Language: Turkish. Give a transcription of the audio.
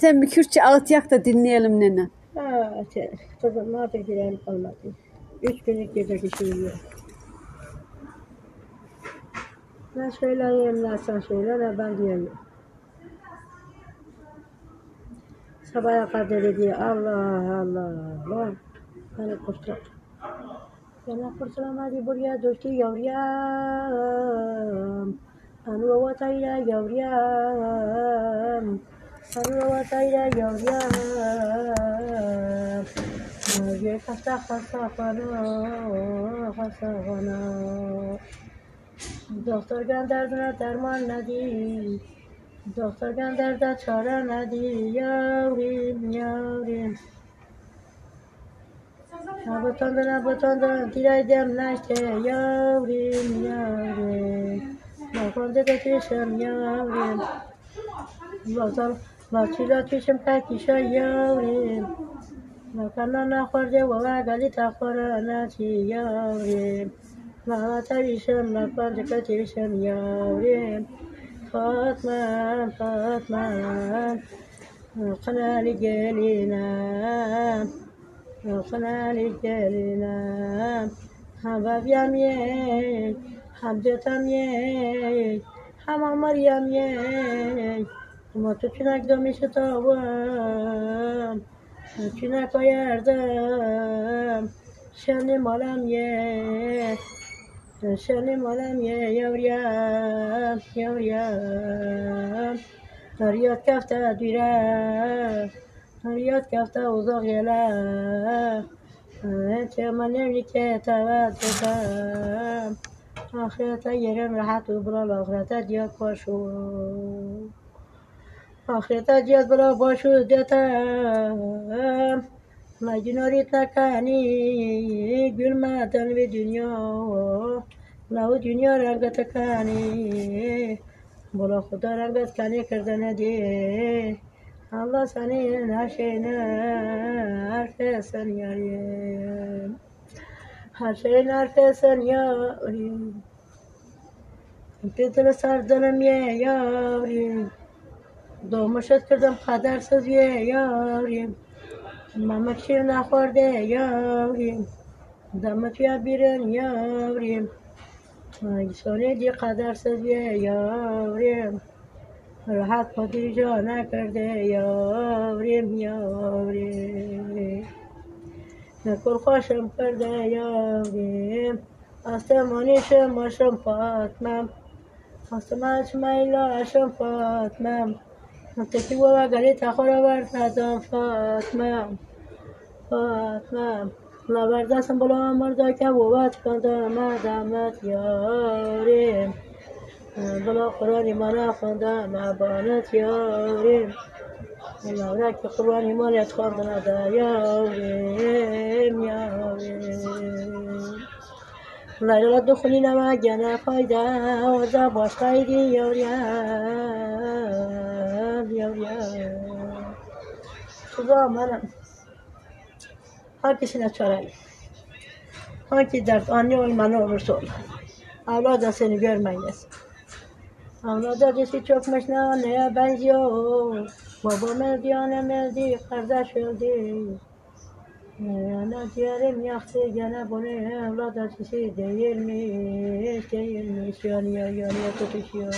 Sen bir Kürtçe ağıt yak da dinleyelim nene. Kızım ne yapayım kalmadı. 3 günlük gece kişiyi. Ne söyleyeyim ne sen söyle ne ben diyeyim. Sabaha kadar dedi Allah Allah. Beni kurtar. Beni kurtaramadı buraya düştü yavrum. Anu vatayla yavrum. Anu vatayla yavrum. Ye hasta bana. Doktor gönderdiğine derman nedir? Doktor gönderdi çare nedir? Yavrum. Ne butondu, dileğim neşte yavrum. Ne kondu da düşüm yavrum. Laçıyla düşüm kakişa yavrum. Ne kanana khorde ve gali takhora naçi yavrum. Ne tarişim ne kondu kaçırışım yavrum. Fatma, qanali gelina. خنالي جلنا حباب يمي حبجتم يي حما مريم يي ما تو چنک دمی شتابم چنک آیردم شنی مالم یه یوریم دریات کفته دیره Riyad kafta uzak yele Çemanevli ke teveddüdem Ahirete yerim rahat ubral ahirete diyat başu Ahirete diyat bırak başu detem Mecnurit nekani gülmeden bir dünya Lahu dünya rengete kani Bula Khuda renget kani kırdene di Allah senin her şeyine herkesin yarim. Her şeyin herkesin yarim. Gidili sardanım ye yarim. Doğmuş ettirdim kadersiz ye yarim. Mamak şir nakhorde yarim. Damat ya birin yarim. Sonedi kadersiz ye yarim. راحت خودی جا نکرده یاریم نکل خوشم کرده یاریم آسمانیشم باشم فاطمم آسمانش میلاشم فاطمم تکی و گلی تخورا بردم فاطمم لبردستم بلا مردا که بوت کندم دمت یاریم بلا قرآن ایمان خوندم ابانت یاریم لورک قرآن ایمانت خوندم دا یاریم لیلا دخولی نمگنه فایده وزا باش خیلی یاریم خدا منم هر کسی نچاره هر کی درد آنی و منو برسول اولاد seni görmeyiz. Avlada dişi çökmüş neye benziyor. Babam öldü, annem öldü, kardeş öldü. Ana ciğerim yaktı gene bunu avlada dişi değilmiş. Yanıyor tutuşuyor.